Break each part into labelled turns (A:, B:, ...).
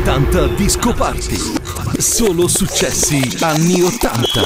A: 80 Disco Party. Solo successi anni 80.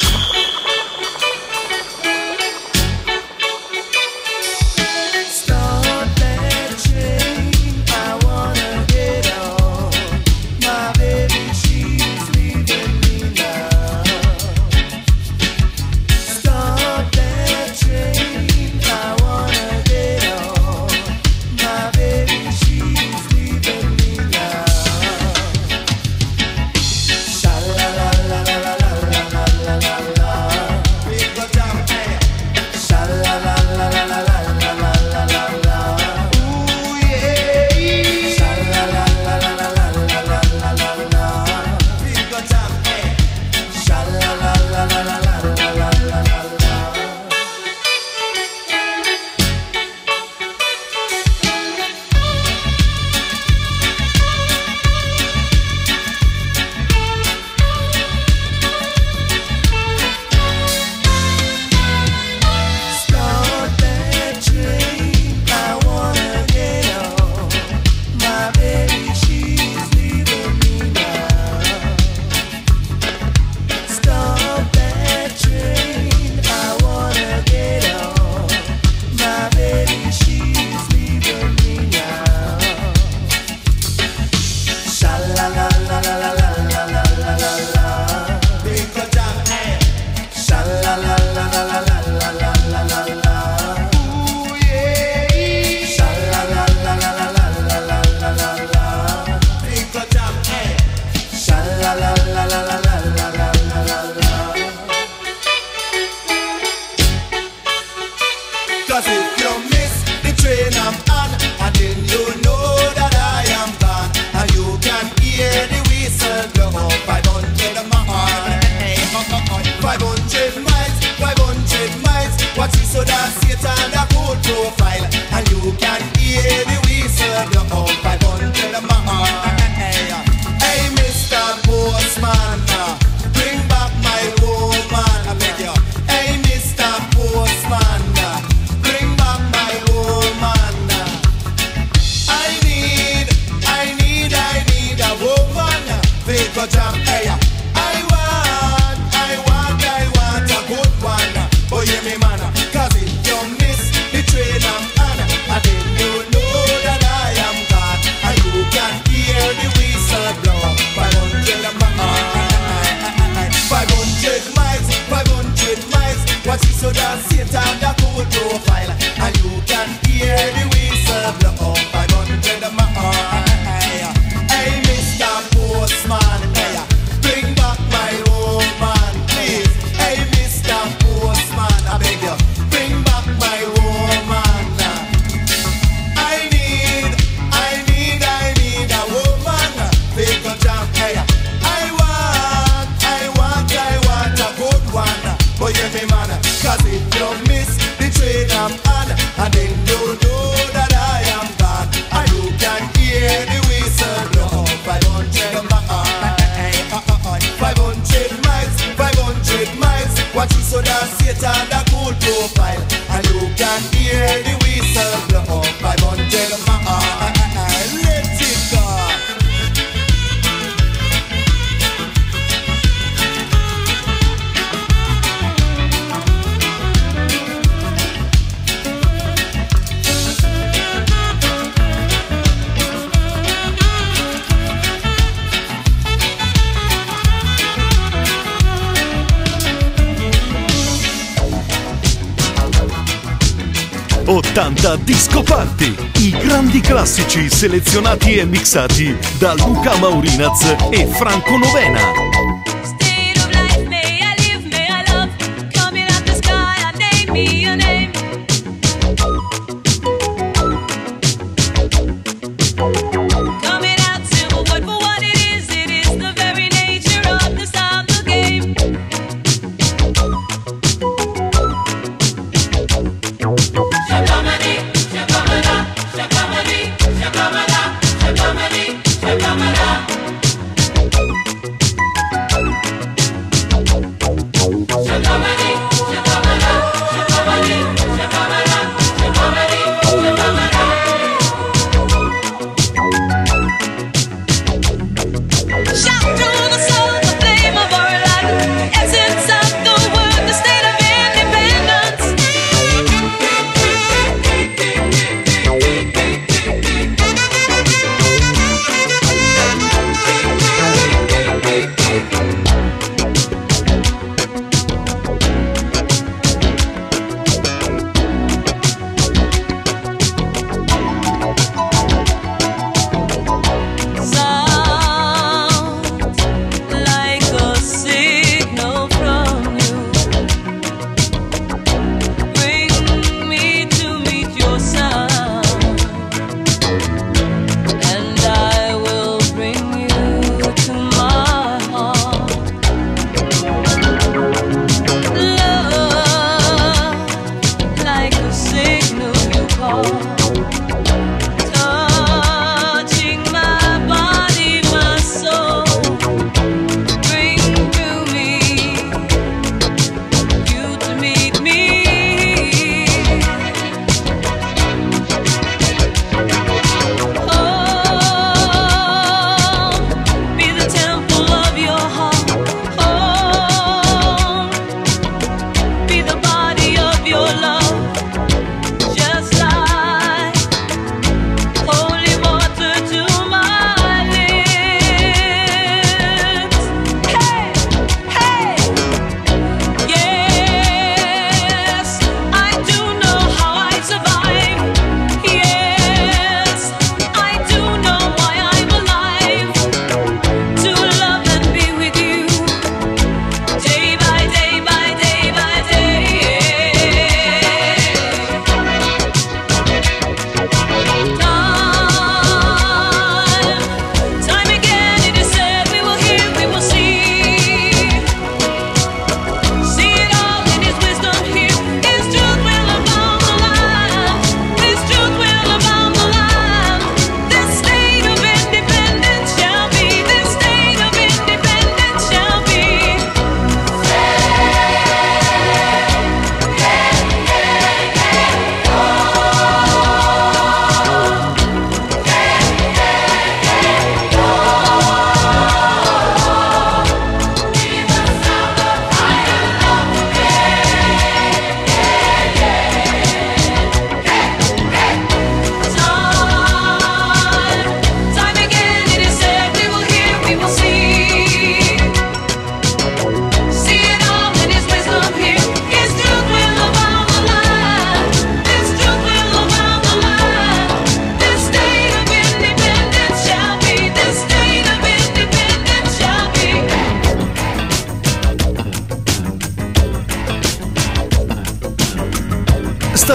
A: Disco Party, i grandi classici selezionati e mixati da Luca Maurinaz e Franco Novena.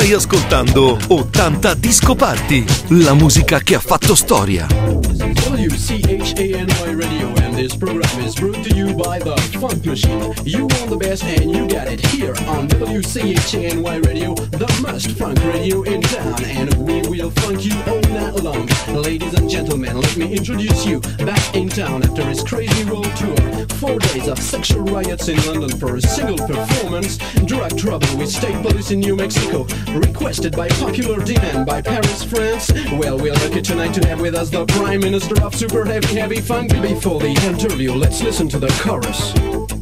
A: Stai ascoltando 80 Disco Party, la musica che ha fatto storia.
B: WCHANY Radio, and this program is brought to you by the Funk Machine. You want the best and you got it here on WCHANY Radio, the most funk radio in town, and we will funk you all night long. Ladies and gentlemen, let me introduce you back in town after his crazy world tour. 4 days of sexual riots in London for a single performance, drug trouble with state police in New Mexico, requested by popular demand by Paris, France. Well, we're lucky tonight to have with us the Prime Minister of Super Heavy Funk. Before the interview, let's listen to the chorus.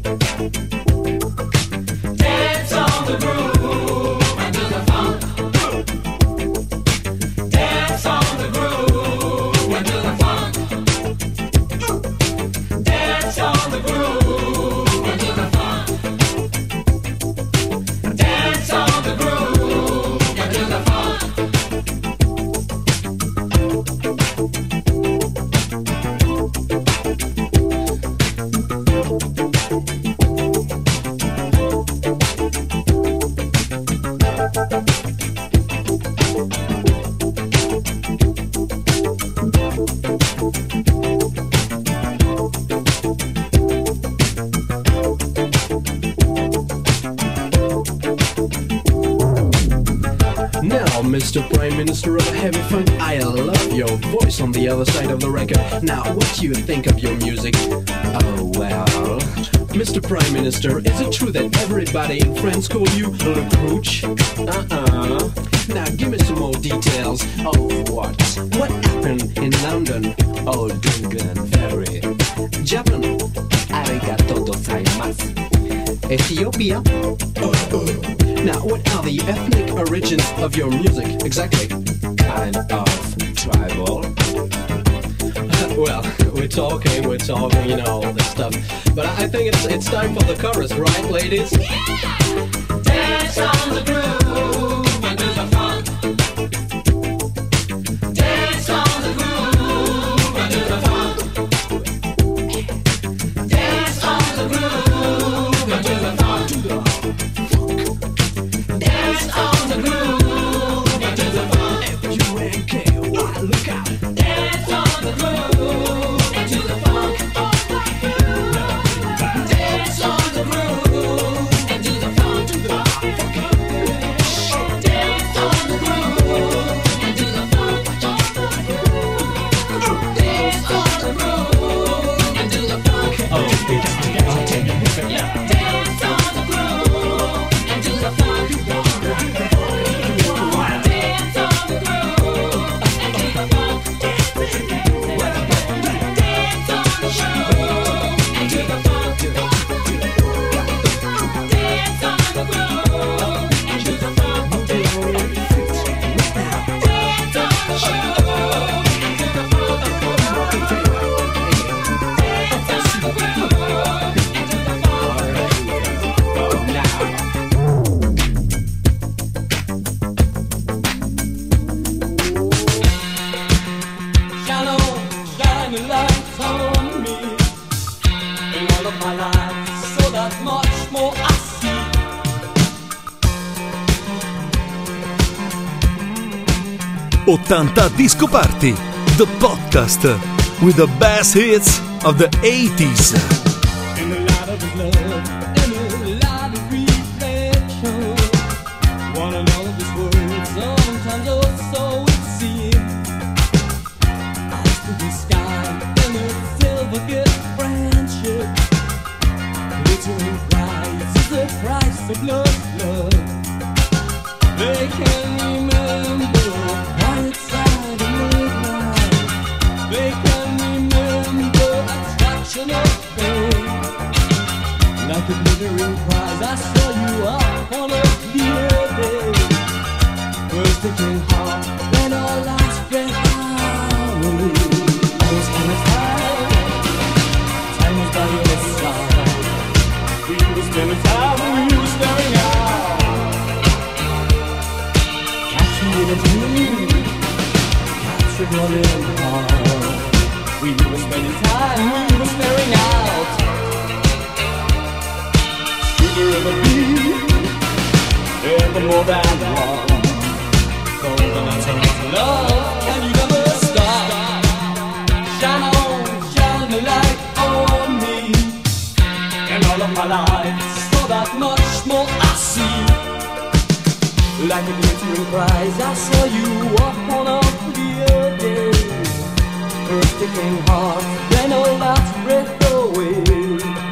C: Dance on the groove and do the funk. Dance on the groove and do the funk. Dance on the groove and do the funk. Dance on the groove and do the funk.
B: Mr. Prime Minister of Heavy Funk, I love your voice on the other side of the record. Now, what do you think of your music? Oh, well, Mr. Prime Minister, is it true that everybody in France call you Le Crouch? Now, give me some more details of what? What happened in London?
D: Oh, Dungan, very.
B: Japan?
D: Arigato gozaimasu.
B: Ethiopia? Now, what are the ethnic origins of your music, exactly?
D: Kind of tribal.
B: Well, we're talking, you know, all this stuff. But I think it's time for the chorus, right, ladies?
C: Dance on the groove and do the funk. Dance on the groove and do the funk. Dance on the groove and do the funk. Dance on the groove and do the funk.
B: F-U-N-K-Y, look out.
C: Dance on the groove and do the funk. Dance on the groove and do the funk. Dance on the groove and do the funk. Dance on the groove and do the funk. Dance on the groove and do the funk. Dance on the groove and do the funk. My life, so that much more I see.
A: 80 Disco Party, the podcast with the best hits of the 80s.
C: In the light of his love, in the light of reflection, one another's words, sometimes also it seems. Eyes to the sky, in a silver gift friendship. Glittering price is the price of love. They can remember quiet side of midnight. They can remember attraction of fame. Like a glittering prize, I saw you up on a clear day. First thinking hard, when our lights spread out. Once upon a time was by your side. We were spending time, we were staring out. Catch me in a dream, captured one in heart. We were spending time, we were staring out. Sweeter of a bee, ever more than one. love, can you never stop? Shine on, shine a light on me. And all of my life, so that much more I see. Like a glittering prize, I saw you up on a clear day. First it came hard, then all that breath away.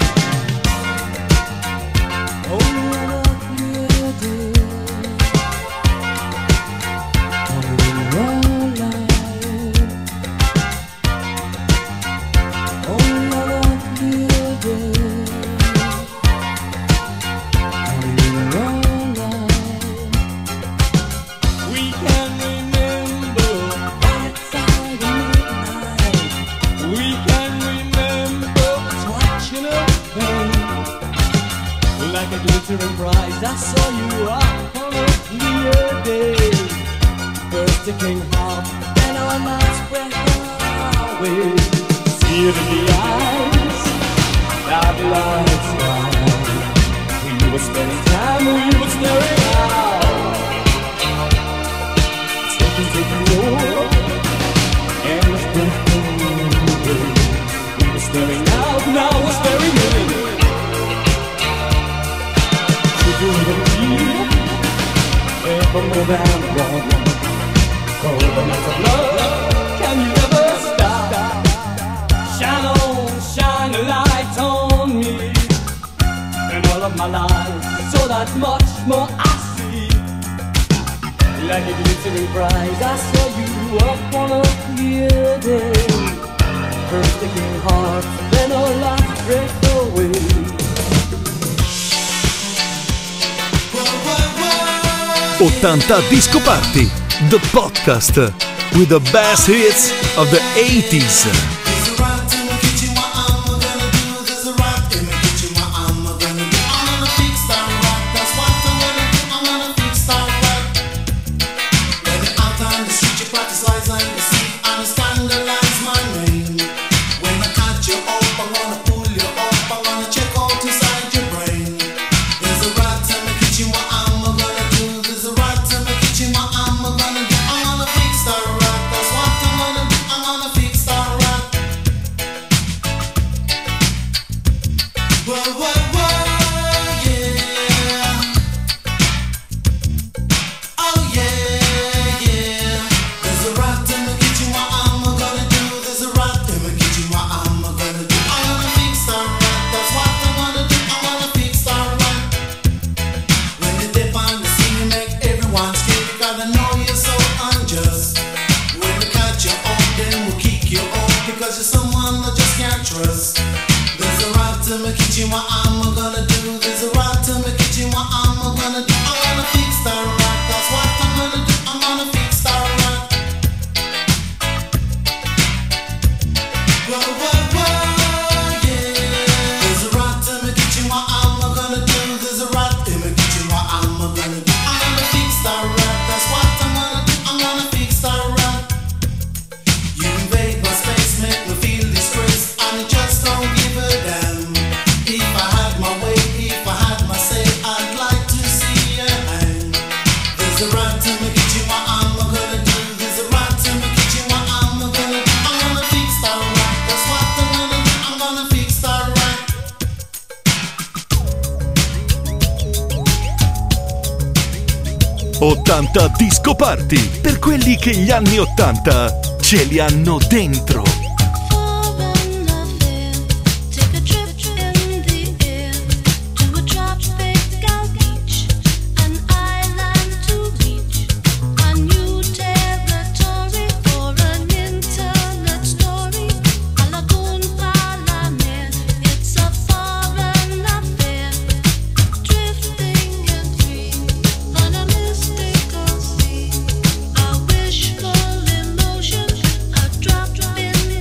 C: I saw you up on a clear day. First it came hot, then all nights breath away. See it in the eyes, that lights down. We were spending time, we were staring out. Taking over, and the breath away. We were staring out, now we're staring in. For more than one, oh, the nights of love, can you never stop? Shine on, shine a light on me. And all of my life, so that much more I see. Like a glittering prize, I saw you up on a clear day. First it came hard, then all life breaks away.
A: 80 Disco Party, the podcast with the best hits of the 80s. Disco Party, per quelli che gli anni 80 ce li hanno dentro.
E: Emotion, a drop in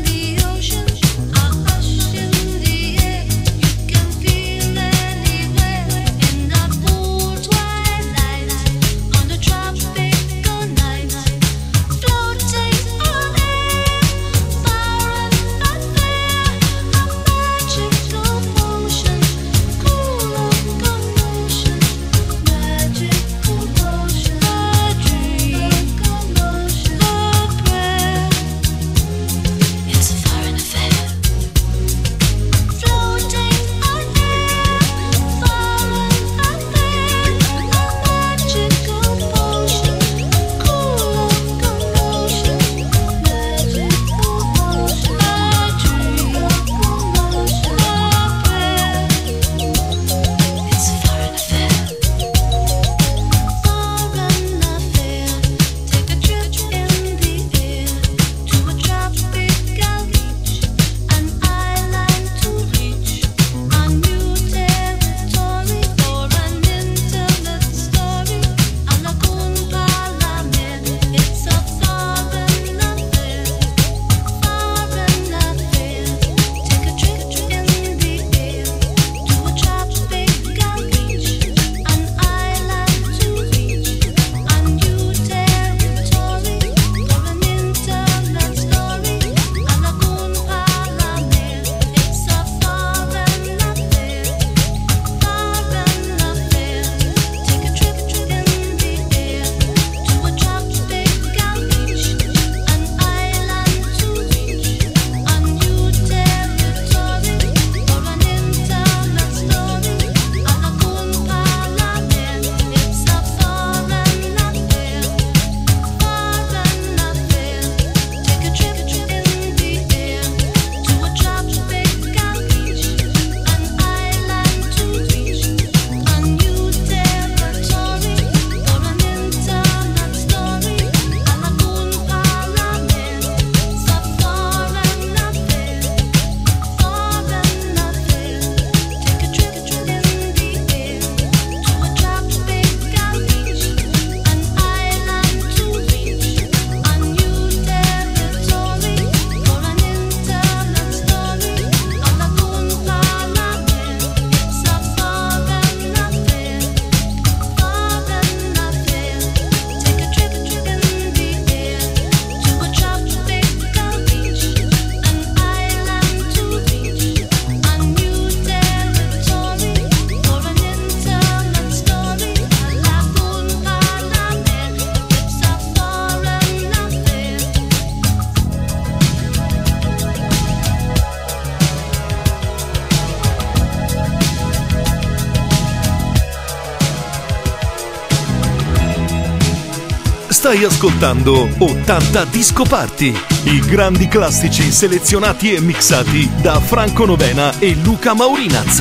A: Stai ascoltando 80 Disco Party, i grandi classici selezionati e mixati da Franco Novena e Luca Maurinaz.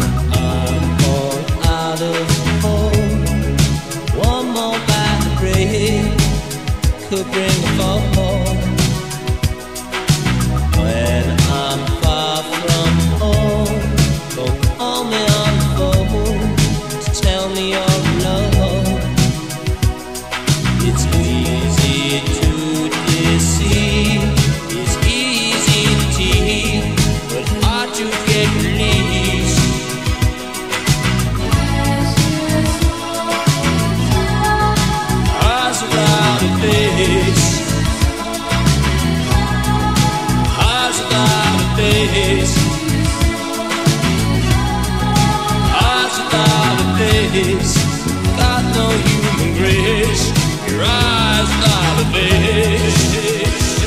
C: Got no human grace. Your eyes without a face.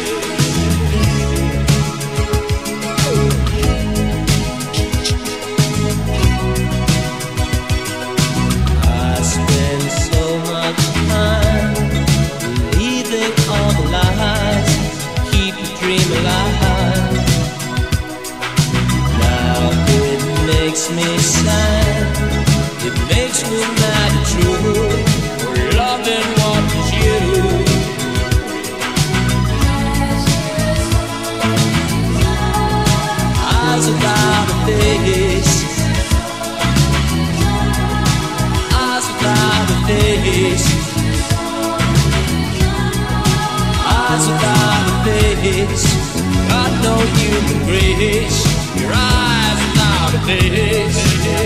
C: I spend so much time believing all the lies, keep the dream alive. Now it makes me sad. It makes me mad and true for loving what was you. Eyes without a face. Eyes without a face. Eyes without a face. Got no human grace. Your eyes without a face.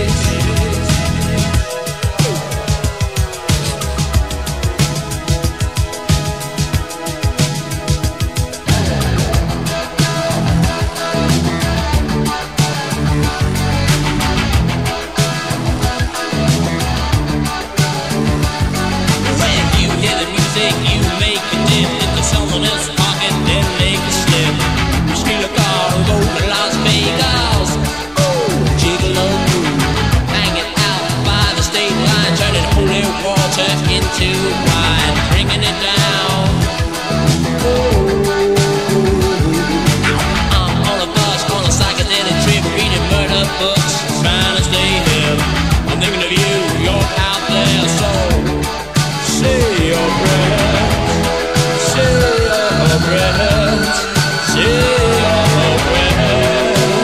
C: Into wine, bringing it down. I'm on a bus, on a psychedelic trip, reading murder books, trying to stay hip. I'm thinking of you, you're out there, so say your prayers, say your prayers, say your prayers.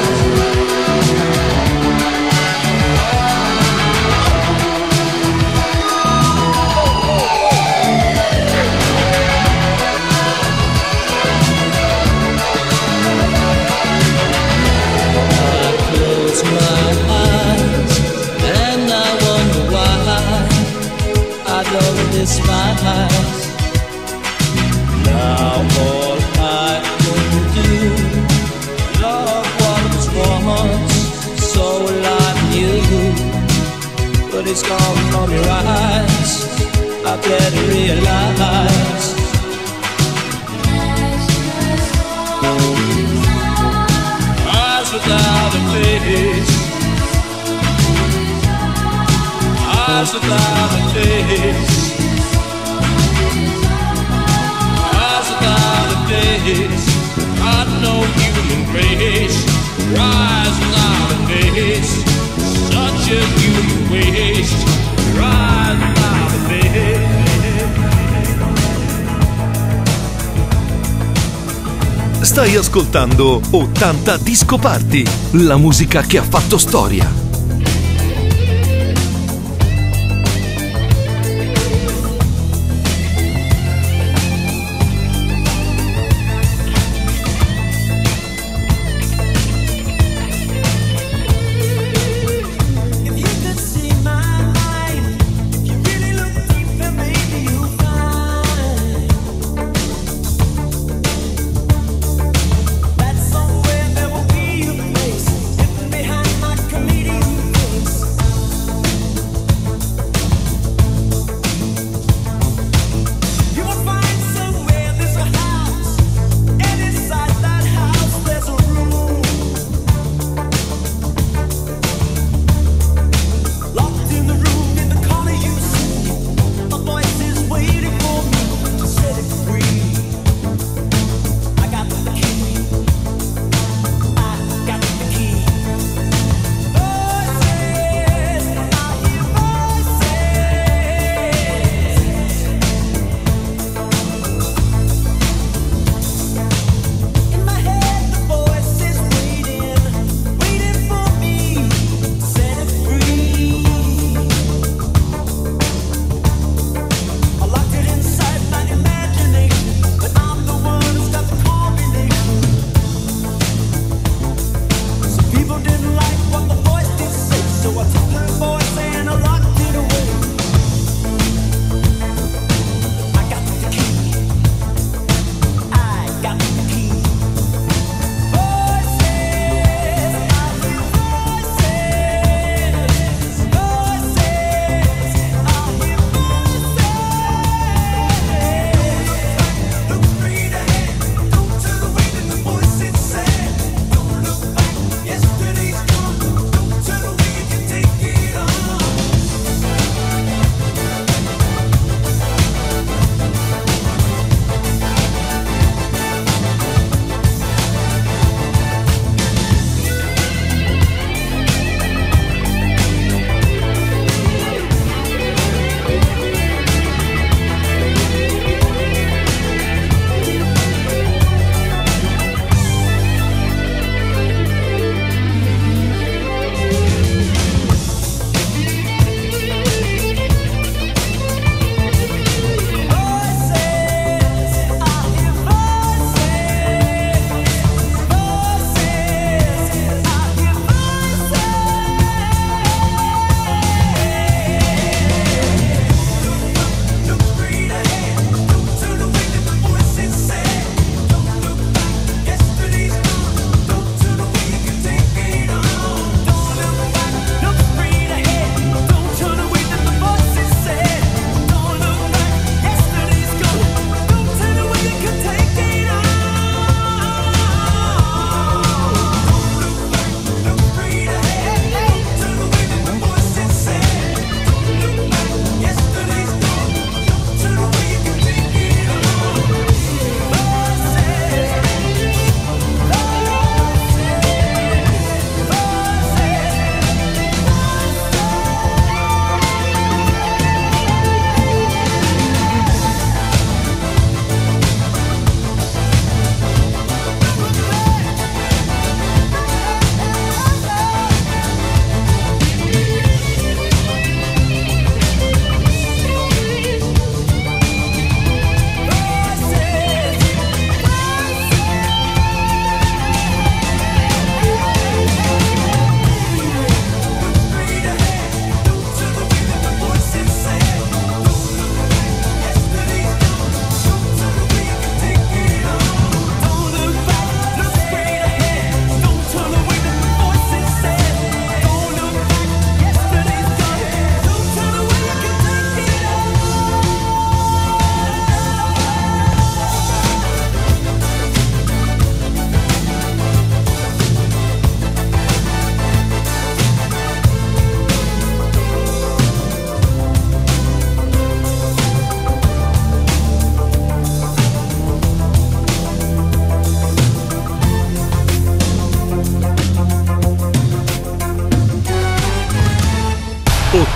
C: Despise. Now all I can do, love what was once so like you, but it's gone from your eyes. I better realize. Eyes without a face. Eyes without a face. Without a face, got no human grace. Rise without a face, such a human waste. Rise without a face.
A: Stai ascoltando 80 Disco Party, la musica che ha fatto storia.
E: Comedian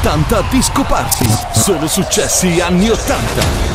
A: 80 Disco Party. Solo successi anni 80.